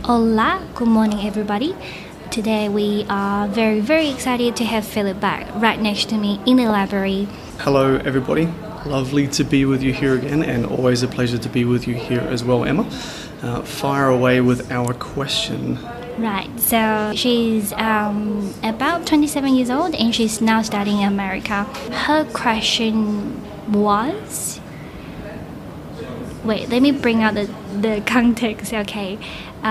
Hola, good morning everybody. Today we are very, very excited to have Philip back right next to me in the library. Hello everybody, lovely to be with you here again, and always a pleasure to be with you here as well, Emma. Fire away with our question. Right, so she's about 27 years old and she's now studying in America. Her question was... Wait, let me bring out the context, okay.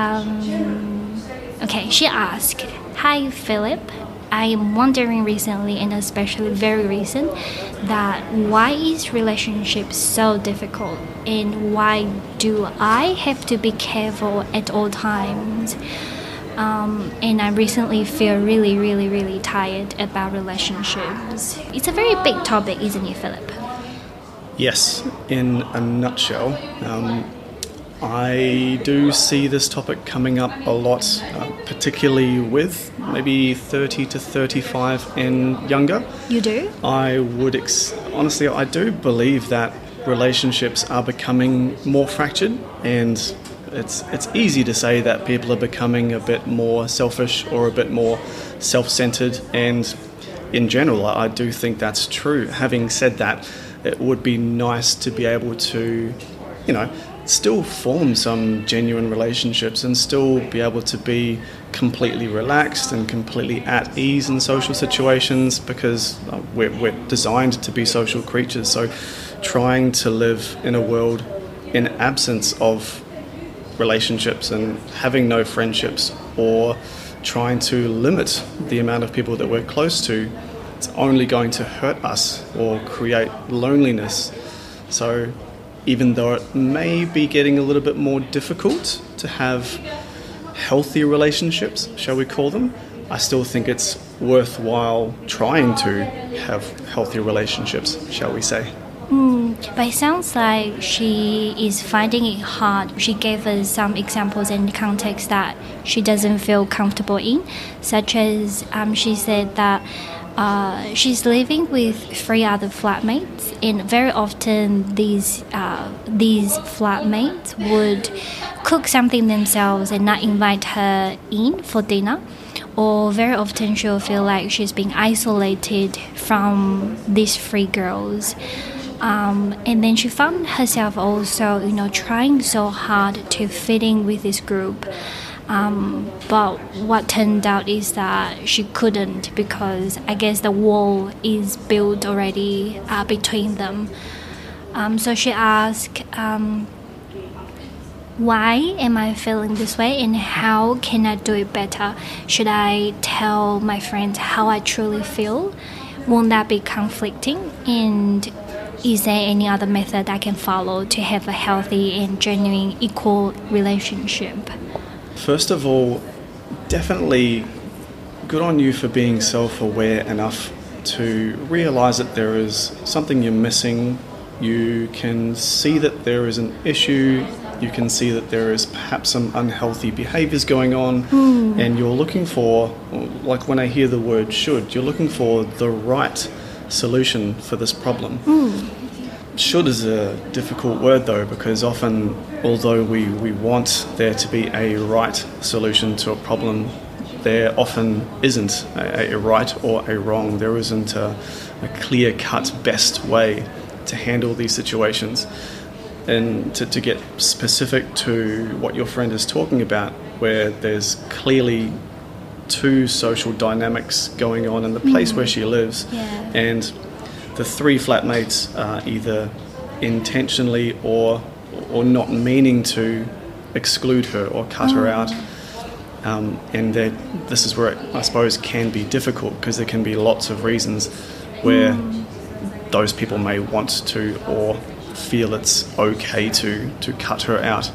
She asked, "Hi Philip, I am wondering recently, and especially very recent, that why is relationship so difficult and why do I have to be careful at all times? And I recently feel really, really, really tired about relationships." It's a very big topic, isn't it, Philip? Yes, in a nutshell, I do see this topic coming up a lot, particularly with maybe 30 to 35 and younger. You do? I would, honestly, I do believe that relationships are becoming more fractured, and it's easy to say that people are becoming a bit more selfish or a bit more self-centered, and in general, I do think that's true. Having said that, it would be nice to be able to, still form some genuine relationships and still be able to be completely relaxed and completely at ease in social situations, because we're designed to be social creatures. So trying to live in a world in absence of relationships and having no friendships, or trying to limit the amount of people that we're close to, it's only going to hurt us or create loneliness. So even though it may be getting a little bit more difficult to have healthy relationships, shall we call them, I still think it's worthwhile trying to have healthy relationships, shall we say. But it sounds like she is finding it hard. She gave us some examples and context that she doesn't feel comfortable in, such as she said that she's living with 3 other flatmates, and very often these flatmates would cook something themselves and not invite her in for dinner. Or very often she'll feel like she's being isolated from these 3 girls. And then she found herself also, trying so hard to fit in with this group. But what turned out is that she couldn't, because I guess the wall is built already between them. So she asked, why am I feeling this way and how can I do it better? Should I tell my friends how I truly feel? Won't that be conflicting? And is there any other method I can follow to have a healthy and genuine equal relationship? First of all, definitely good on you for being self-aware enough to realise that there is something you're missing. You can see that there is an issue. You can see that there is perhaps some unhealthy behaviours going on, and you're looking for, like when I hear the word should, you're looking for the right solution for this problem. Should is a difficult word though, because often, although we want there to be a right solution to a problem, there often isn't a right or a wrong. There isn't a clear-cut best way to handle these situations. And to get specific to what your friend is talking about, where there's clearly 2 social dynamics going on in the place where she lives, and the 3 flatmates are either intentionally or not meaning to exclude her or cut her out. And this is where it, I suppose, can be difficult, because there can be lots of reasons where those people may want to or feel it's okay to cut her out.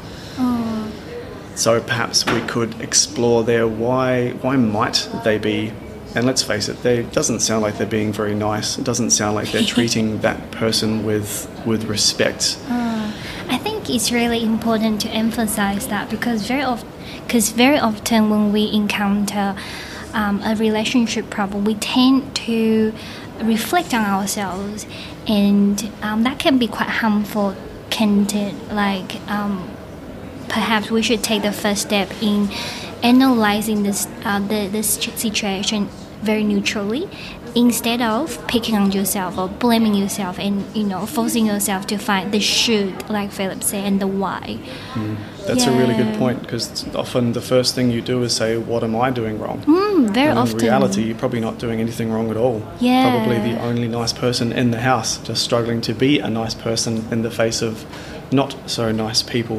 So perhaps we could explore there, why might they be, and let's face it, it doesn't sound like they're being very nice. It doesn't sound like they're treating that person with respect. I think it's really important to emphasize that, because very often when we encounter a relationship problem, we tend to reflect on ourselves, and that can be quite harmful, can't it? Like perhaps we should take the first step in analyzing this situation very neutrally, instead of picking on yourself or blaming yourself and forcing yourself to find the should, like Philip said, and the why. That's a really good point, because often the first thing you do is say, what am I doing wrong? Very and often. in reality, you're probably not doing anything wrong at all. Yeah. Probably the only nice person in the house, just struggling to be a nice person in the face of not so nice people.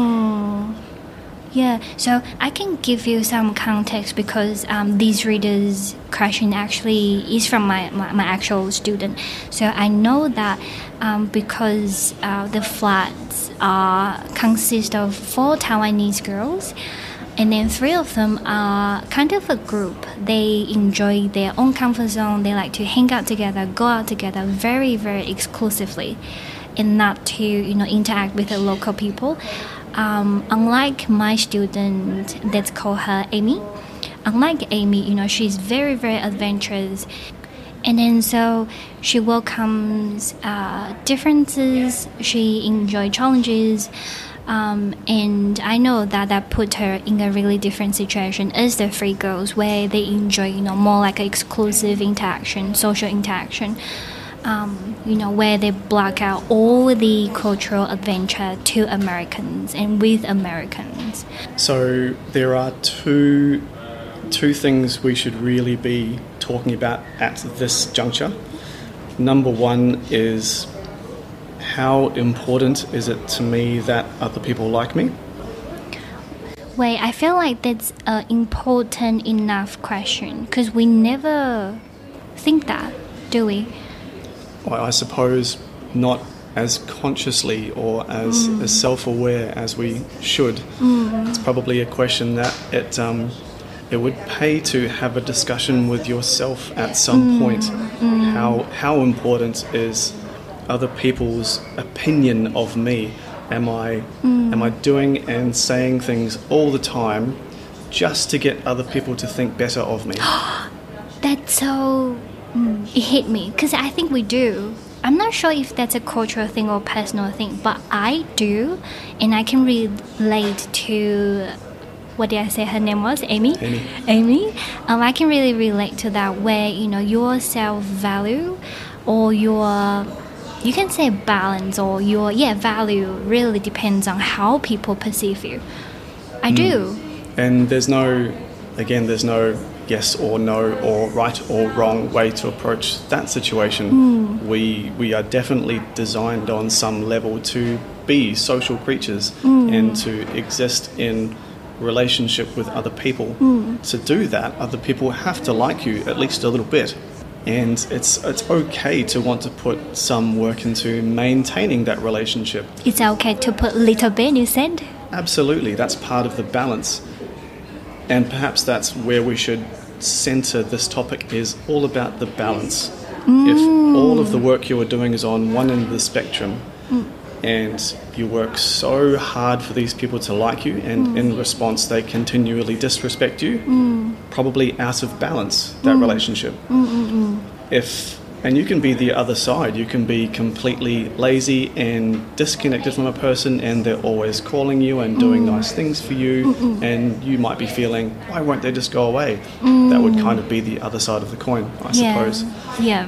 Yeah, so I can give you some context, because these readers' question actually is from my actual student. So I know that because the flats consist of 4 Taiwanese girls, and then 3 of them are kind of a group. They enjoy their own comfort zone. They like to hang out together, go out together very, very exclusively, and not to interact with the local people. Unlike my student, let's call her Amy. Unlike Amy, she's very, very adventurous. And then so she welcomes differences, she enjoys challenges, and I know that put her in a really different situation as the 3 girls, where they enjoy, more like an exclusive interaction, social interaction. Where they block out all the cultural adventure to Americans and with Americans. So there are two things we should really be talking about at this juncture. Number one is, how important is it to me that other people like me? Wait, I feel like that's an important enough question, because we never think that, do we? Well, I suppose not as consciously or as self-aware as we should. It's probably a question that it would pay to have a discussion with yourself at some point. How important is other people's opinion of me? Am I doing and saying things all the time just to get other people to think better of me? That's so... it hit me, because I think we do. I'm not sure if that's a cultural thing or personal thing, but I do, and I can relate to... What did I say her name was? Amy? Amy. I can really relate to that, where, your self-value or your... You can say balance, or your value really depends on how people perceive you. I do. And there's no yes or no or right or wrong way to approach that situation. We are definitely designed on some level to be social creatures and to exist in relationship with other people. To do that, other people have to like you at least a little bit. And it's okay to want to put some work into maintaining that relationship. It's okay to put a little bit, you said? Absolutely, that's part of the balance. And perhaps that's where we should center this topic, is all about the balance. If all of the work you are doing is on one end of the spectrum, and you work so hard for these people to like you, and in response they continually disrespect you, probably out of balance, that relationship. And you can be the other side. You can be completely lazy and disconnected from a person, and they're always calling you and doing nice things for you, and you might be feeling, why won't they just go away? That would kind of be the other side of the coin, I suppose. Yeah.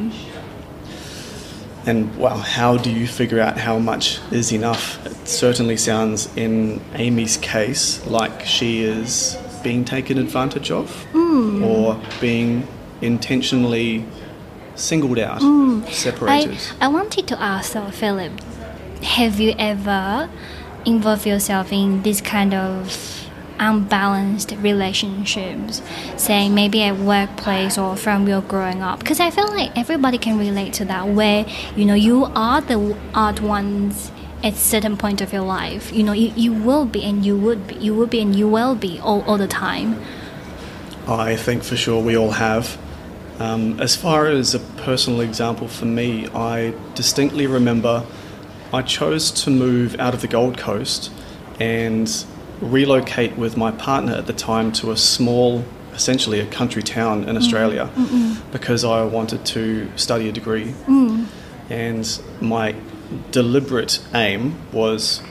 And, well, how do you figure out how much is enough? It certainly sounds, in Amy's case, like she is being taken advantage of, or being intentionally singled out, separated. I wanted to ask, Philip, have you ever involved yourself in this kind of unbalanced relationships, saying maybe at workplace or from your growing up? Because I feel like everybody can relate to that, where you are the odd ones at certain point of your life. You will be and you would be, you will be and you will be all the time. I think for sure we all have. As far as a personal example for me, I distinctly remember I chose to move out of the Gold Coast and relocate with my partner at the time to a small, essentially a country town in Australia, because I wanted to study a degree. And my deliberate aim was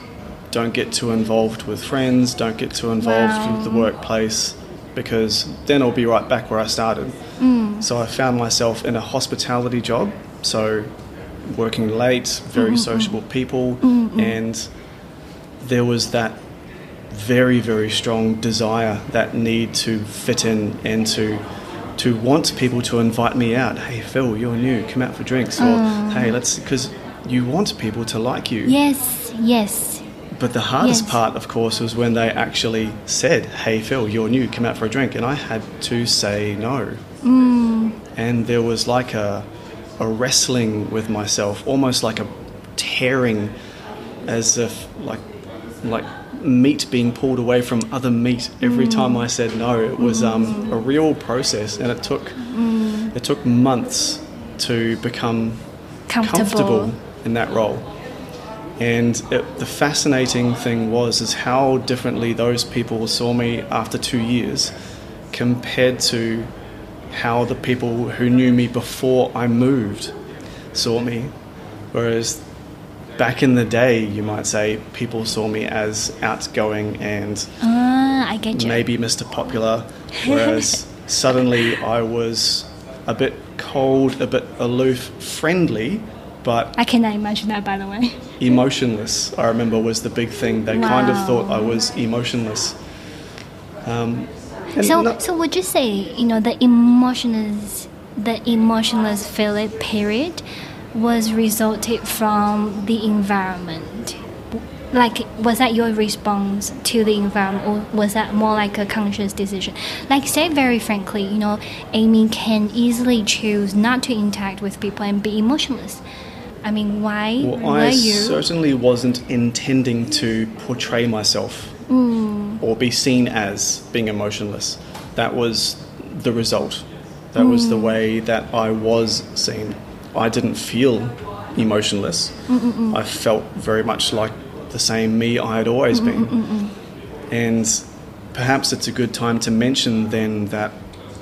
don't get too involved with friends, don't get too involved with the workplace, because then I'll be right back where I started. So I found myself in a hospitality job, so working late, very sociable people, and there was that very, very strong desire, that need to fit in and to want people to invite me out. Hey, Phil, you're new, come out for drinks. Or, hey, let's, because you want people to like you. Yes. But the hardest part, of course, was when they actually said, hey, Phil, you're new, come out for a drink. And I had to say no. And there was like a wrestling with myself, almost like a tearing, as if like meat being pulled away from other meat every time I said no. It was a real process, and it took months to become comfortable in that role. And the fascinating thing is how differently those people saw me after 2 years compared to how the people who knew me before I moved saw me. Whereas back in the day, you might say, people saw me as outgoing and I get you. maybe Mr. Popular, whereas suddenly I was a bit cold, a bit aloof, friendly, but I cannot imagine that, by the way. emotionless, I remember, was the big thing. They kind of thought I was emotionless. So would you say, the emotionless Philip period was resulted from the environment? Like, was that your response to the environment, or was that more like a conscious decision? Like, say very frankly, Amy can easily choose not to interact with people and be emotionless. I mean, why were you? I certainly wasn't intending to portray myself or be seen as being emotionless. That was the result. That was the way that I was seen. I didn't feel emotionless. I felt very much like the same me I had always been. And perhaps it's a good time to mention then that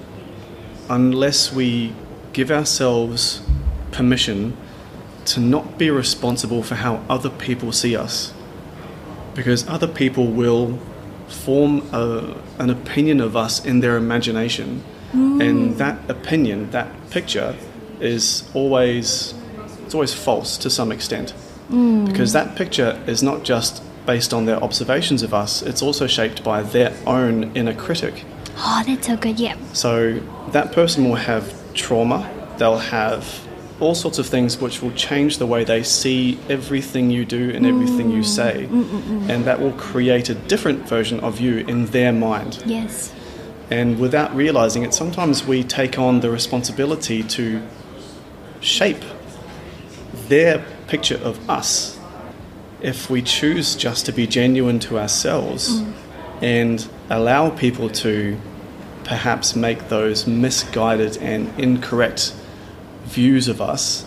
unless we give ourselves permission to not be responsible for how other people see us, because other people will form an opinion of us in their imagination, and that opinion, that picture, is always false to some extent, because that picture is not just based on their observations of us, it's also shaped by their own inner critic. Oh, that's so good, yeah. So that person will have trauma, they'll have all sorts of things which will change the way they see everything you do and everything you say, and that will create a different version of you in their mind. Yes. And without realizing it, sometimes we take on the responsibility to shape their picture of us if we choose just to be genuine to ourselves and allow people to perhaps make those misguided and incorrect views of us.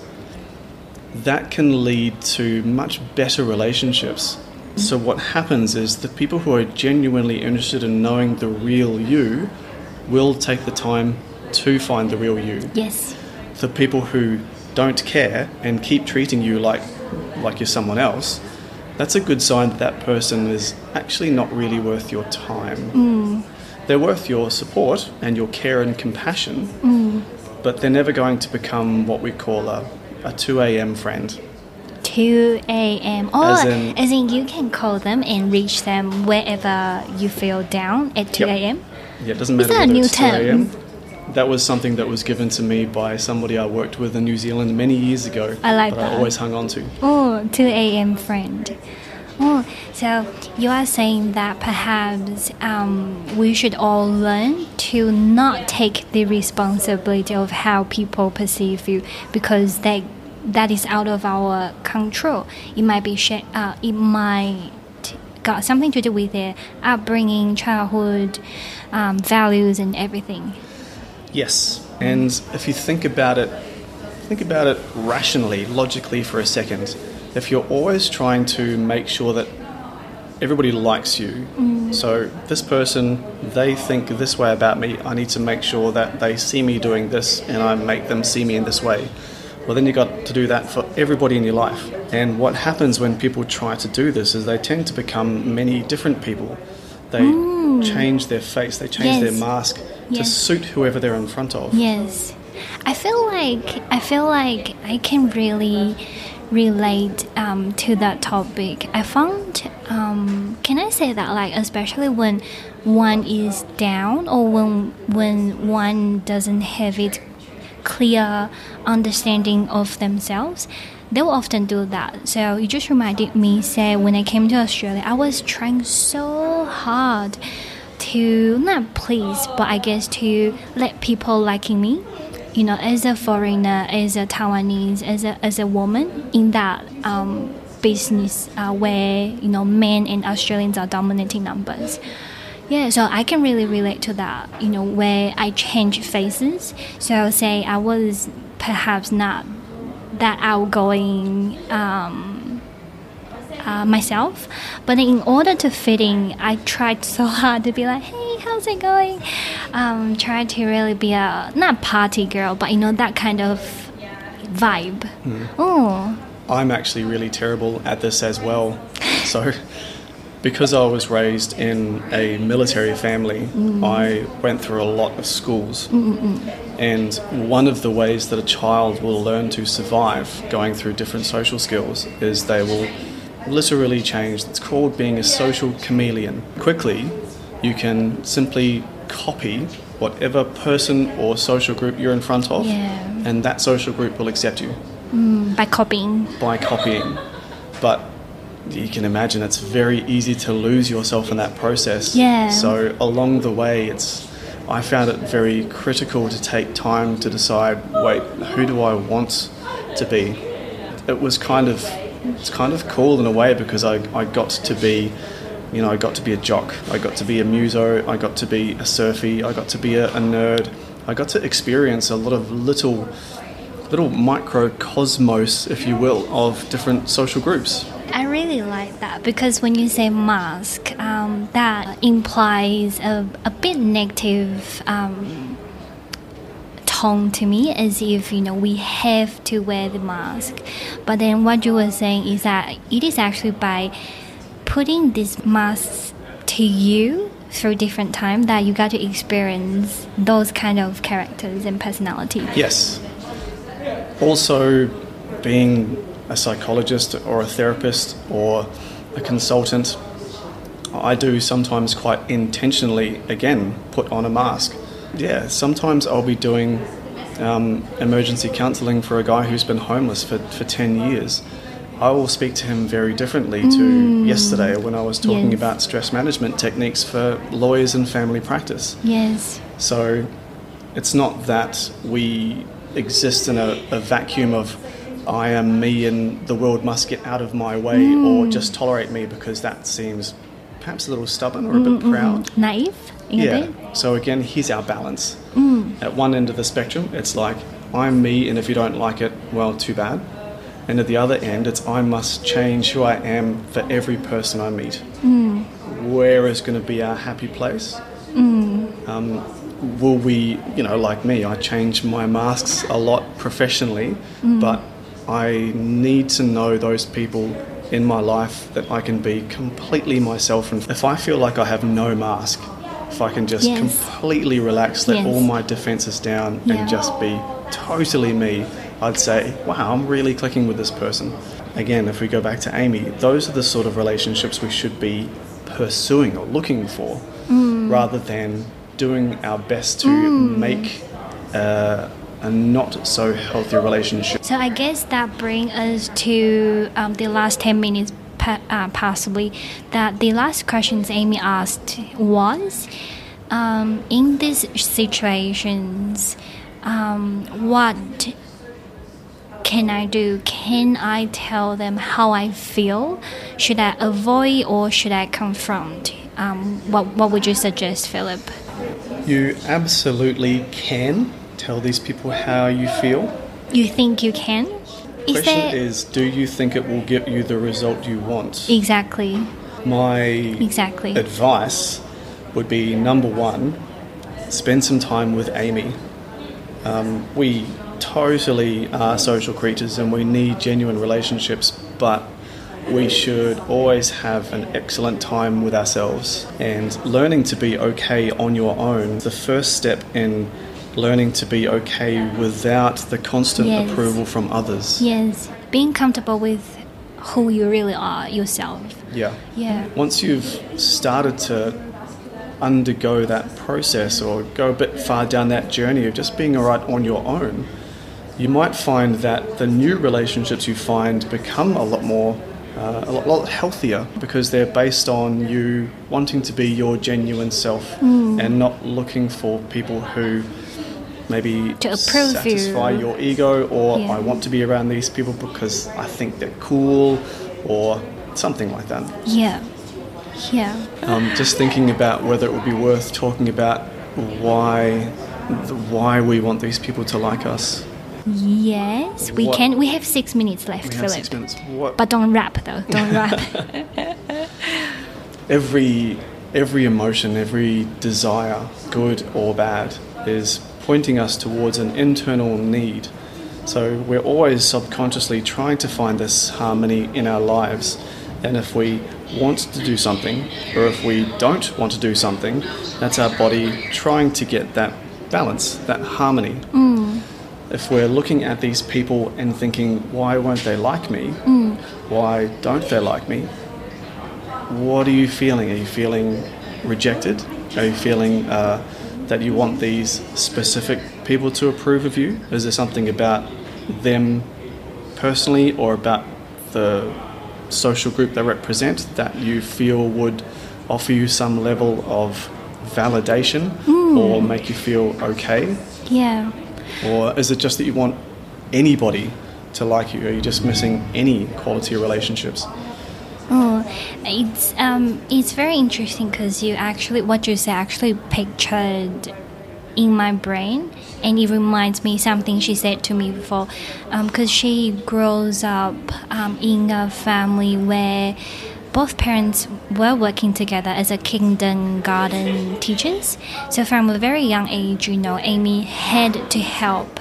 That can lead to much better relationships. So what happens is the people who are genuinely interested in knowing the real you will take the time to find the real you. Yes. The people who don't care and keep treating you like you're someone else, that's a good sign that that person is actually not really worth your time. They're worth your support and your care and compassion, but they're never going to become what we call a 2 a.m. friend. 2 a.m. As in you can call them and reach them wherever you feel down at 2 a.m.? Yeah, it doesn't matter whether it's 2 a.m. That was something that was given to me by somebody I worked with in New Zealand many years ago. I like that. I always hung on to. Oh, 2 a.m. friend. Oh, so you are saying that perhaps we should all learn to not take the responsibility of how people perceive you, because that is out of our control. It might be it might got something to do with their upbringing, childhood, values, and everything. Yes, and if you think about it rationally, logically for a second. If you're always trying to make sure that everybody likes you, so this person, they think this way about me, I need to make sure that they see me doing this and I make them see me in this way. Well, then you've got to do that for everybody in your life. And what happens when people try to do this is they tend to become many different people. They change their face, they change their mask to suit whoever they're in front of. Yes. I feel like I can really relate to that topic. I found, can I say that, like, especially when one is down or when one doesn't have it clear understanding of themselves, they will often do that. So it just reminded me, say, when I came to Australia, I was trying so hard to not please, but I guess to let people liking me, you know, as a foreigner, as a Taiwanese, as a woman in that business where, you know, men and Australians are dominating numbers. Yeah, so I can really relate to that, you know, where I change faces. So say I was perhaps not that outgoing myself, but in order to fit in, I tried so hard to be like, hey, how's it going? Try to really be a, not party girl, but, you know, that kind of vibe. Oh, I'm actually really terrible at this as well. So because I was raised in a military family, I went through a lot of schools. And one of the ways that a child will learn to survive going through different social skills is they will literally change. It's called being a social chameleon. Quickly, you can simply copy whatever person or social group you're in front of, and that social group will accept you. By copying. But you can imagine it's very easy to lose yourself in that process. Yeah. So along the way, I found it very critical to take time to decide, wait, who do I want to be? It's kind of cool in a way because I got to be, you know, I got to be a jock, I got to be a muso, I got to be a surfie, I got to be a nerd. I got to experience a lot of little microcosmos, if you will, of different social groups. I really like that because when you say mask, that implies a bit negative tone to me, as if, you know, we have to wear the mask. But then what you were saying is that it is actually by putting these masks to you through different time that you got to experience those kind of characters and personality. Yes. Also, being a psychologist or a therapist or a consultant, I do sometimes quite intentionally, again, put on a mask. Yeah, sometimes I'll be doing emergency counselling for a guy who's been homeless for 10 years. I will speak to him very differently to yesterday when I was talking about stress management techniques for lawyers and family practice. Yes. So it's not that we exist in a vacuum of I am me and the world must get out of my way or just tolerate me, because that seems perhaps a little stubborn or a bit proud. Naive in a bit. So again, here's our balance. At one end of the spectrum, it's like, I'm me, and if you don't like it, well, too bad. And at the other end, it's I must change who I am for every person I meet. Where is going to be our happy place? Will we, you know, like me, I change my masks a lot professionally, but I need to know those people in my life that I can be completely myself. And if I feel like I have no mask, if I can just completely relax, let all my defences down and just be totally me, I'd say, wow, I'm really clicking with this person. Again, if we go back to Amy, those are the sort of relationships we should be pursuing or looking for, rather than doing our best to make a not so healthy relationship. So I guess that brings us to the last 10 minutes possibly, that the last questions Amy asked was, in these situations, what can I do? Can I tell them how I feel? Should I avoid or should I confront? What would you suggest, Philip? You absolutely can tell these people how you feel. You think you can? The question is, do you think it will get you the result you want? Exactly. My advice would be, number one, spend some time with Amy. We totally are social creatures and we need genuine relationships but we should always have an excellent time with ourselves, and learning to be okay on your own, the first step in learning to be okay without the constant approval from others. Yes, being comfortable with who you really are yourself. Yeah. Yeah. Once you've started to undergo that process or go a bit far down that journey of just being all right on your own, you might find that the new relationships you find become a lot more a lot healthier, because they're based on you wanting to be your genuine self and not looking for people who maybe to approve satisfy your ego, or I want to be around these people because I think they're cool, or something like that. Yeah. Just thinking about whether it would be worth talking about why we want these people to like us. Yes, we can. We have 6 minutes left, We Philip. have 6 minutes. But don't rap though. Don't rap. Every emotion, every desire, good or bad, is pointing us towards an internal need. So we're always subconsciously trying to find this harmony in our lives. And if we want to do something, or if we don't want to do something, that's our body trying to get that balance, that harmony. If we're looking at these people and thinking, why won't they like me? Why don't they like me? What are you feeling? Are you feeling rejected? Are you feeling that you want these specific people to approve of you? Is there something about them personally or about the social group they represent that you feel would offer you some level of validation or make you feel okay? Yeah. Or is it just that you want anybody to like you? Are you just missing any quality relationships? Oh, it's very interesting because what you say actually pictured in my brain, and it reminds me something she said to me before, because she grows up in a family where both parents were working together as a kindergarten teachers. So from a very young age, Amy had to help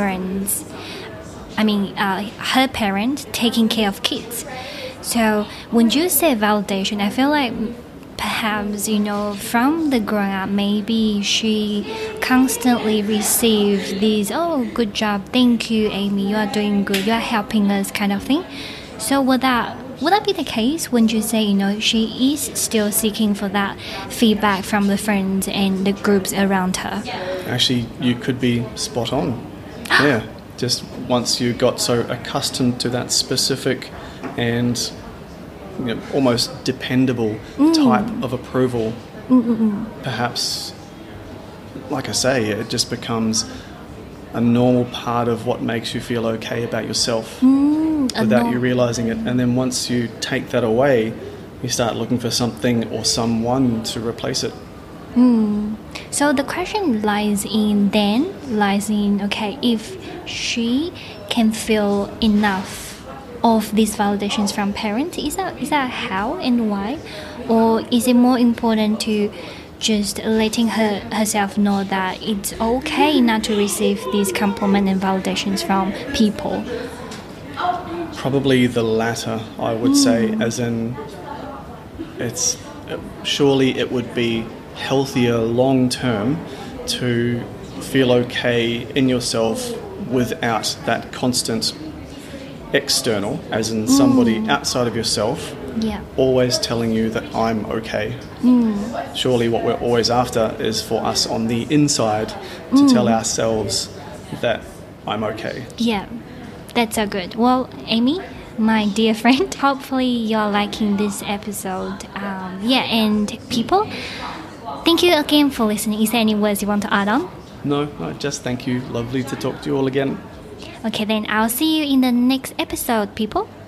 her parents taking care of kids. So when you say validation, I feel like perhaps, from the growing up, maybe she constantly received these, oh, good job, thank you, Amy, you are doing good, you are helping us kind of thing. So would that be the case when you say, she is still seeking for that feedback from the friends and the groups around her? Actually, you could be spot on. Yeah, just once you got so accustomed to that specific and almost dependable type of approval, perhaps, like I say, it just becomes a normal part of what makes you feel okay about yourself without you realizing it. And then once you take that away, you start looking for something or someone to replace it. So the question lies in, okay, if she can feel enough of these validations from parents, is that how and why? Or is it more important to just letting herself know that it's okay not to receive these compliment and validations from people? Probably the latter, I would say, as in surely it would be healthier long term to feel okay in yourself without that constant external, as in somebody outside of yourself, always telling you that I'm okay. Surely what we're always after is for us on the inside to tell ourselves that I'm okay. Yeah, that's so good. Well, Amy, my dear friend, hopefully you're liking this episode. And people, thank you again for listening. Is there any words you want to add on? No, just thank you. Lovely to talk to you all again. Okay, then I'll see you in the next episode, people.